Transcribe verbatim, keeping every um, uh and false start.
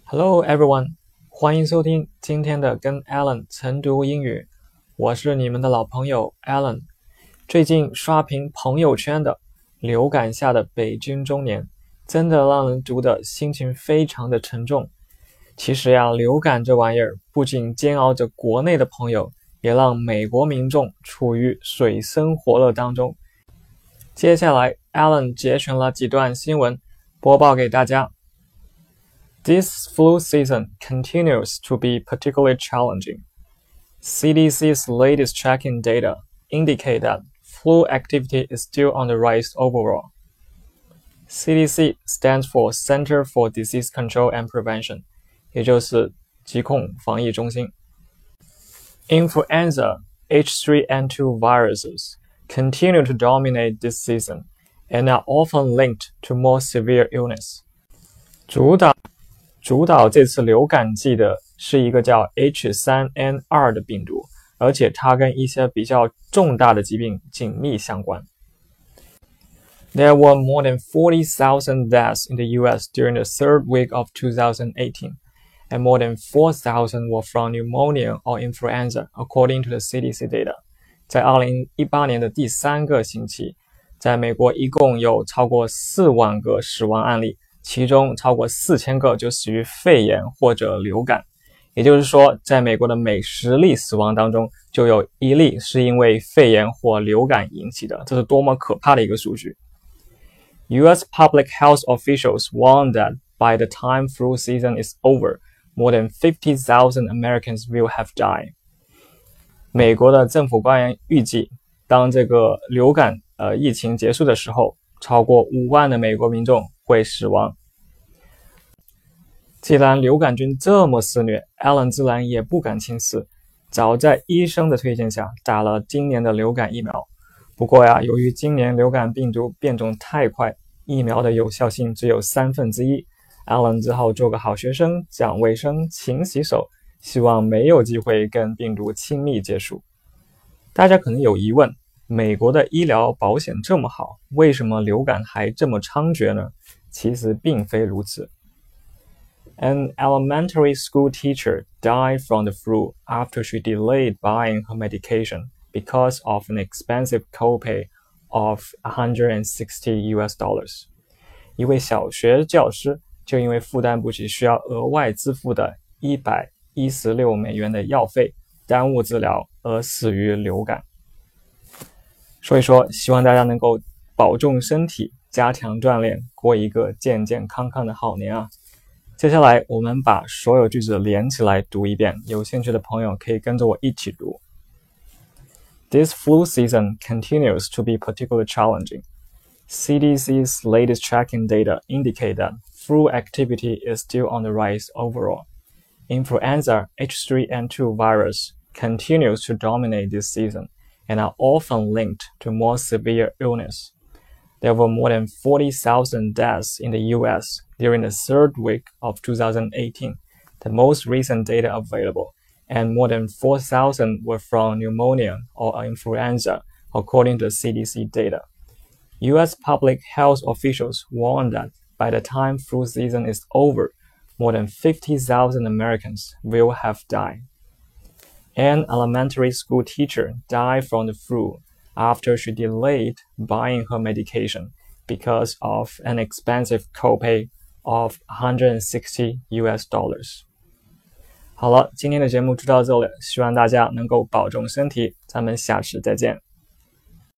Hello everyone， 欢迎收听今天的跟 Alan 晨读英语，我是你们的老朋友 Alan。最近刷屏朋友圈的流感下的北京中年，真的让人读的心情非常的沉重。其实呀，流感这玩意儿不仅煎熬着国内的朋友，也让美国民众处于水深火热当中。接下来 Alan 节选了几段新闻，播报给大家。This flu season continues to be particularly challenging. C D C's latest tracking data indicate that flu activity is still on the rise overall. C D C stands for Center for Disease Control and Prevention, 也就是疾控防疫中心。Influenza H three N two viruses continue to dominate this season and are often linked to more severe illness. 主导主导这次流感季的是一个叫 H three N two 的病毒，而且它跟一些比较重大的疾病紧密相关。There were more than forty thousand deaths in the U S during the third week of two thousand eighteen, and more than four thousand were from pneumonia or influenza, according to the C D C data. 在二零一八年的第三个星期，在美国一共有超过四万个死亡案例，其中超过四千个就死于肺炎或者流感，也就是说，在美国的每十例死亡当中，就有一例是因为肺炎或流感引起的，这是多么可怕的一个数据。U S public health officials warn that by the time flu season is over, more than fifty thousand Americans will have died. 美国的政府官员预计，当这个流感呃疫情结束的时候，超过五万的美国民众会死亡。既然流感菌这么肆虐 ，Alan 自然也不敢轻视，早在医生的推荐下打了今年的流感疫苗。不过呀，由于今年流感病毒变种太快，疫苗的有效性只有三分之一 ，Alan 只好做个好学生，讲卫生，勤洗手，希望没有机会跟病毒亲密接触。大家可能有疑问，美国的医疗保险这么好，为什么流感还这么猖獗呢？其实并非如此。An elementary school teacher died from the flu after she delayed buying her medication because of an expensive copay of one hundred sixty U S dollars. 一位小学教师就因为负担不起需要额外支付的一百一十六美元的药费，耽误治疗而死于流感。所以说，希望大家能够保重身体，加强锻炼，过一个健健康康的好年啊！接下来我们把所有句子连起来读一遍，有兴趣的朋友可以跟着我一起读。This flu season continues to be particularly challenging. C D C's latest tracking data indicate that flu activity is still on the rise overall. Influenza H three N two virus continues to dominate this season and are often linked to more severe illness. There were more than forty thousand deaths in the U S during the third week of two thousand eighteen, the most recent data available, and more than four thousand were from pneumonia or influenza, according to the C D C data. U S public health officials warn that by the time flu season is over, more than fifty thousand Americans will have died. An elementary school teacher died from the flu after she delayed buying her medication because of an expensive copay of one hundred sixty U S dollars. 好了，今天的节目就到这里，希望大家能够保重身体，咱们下次再见。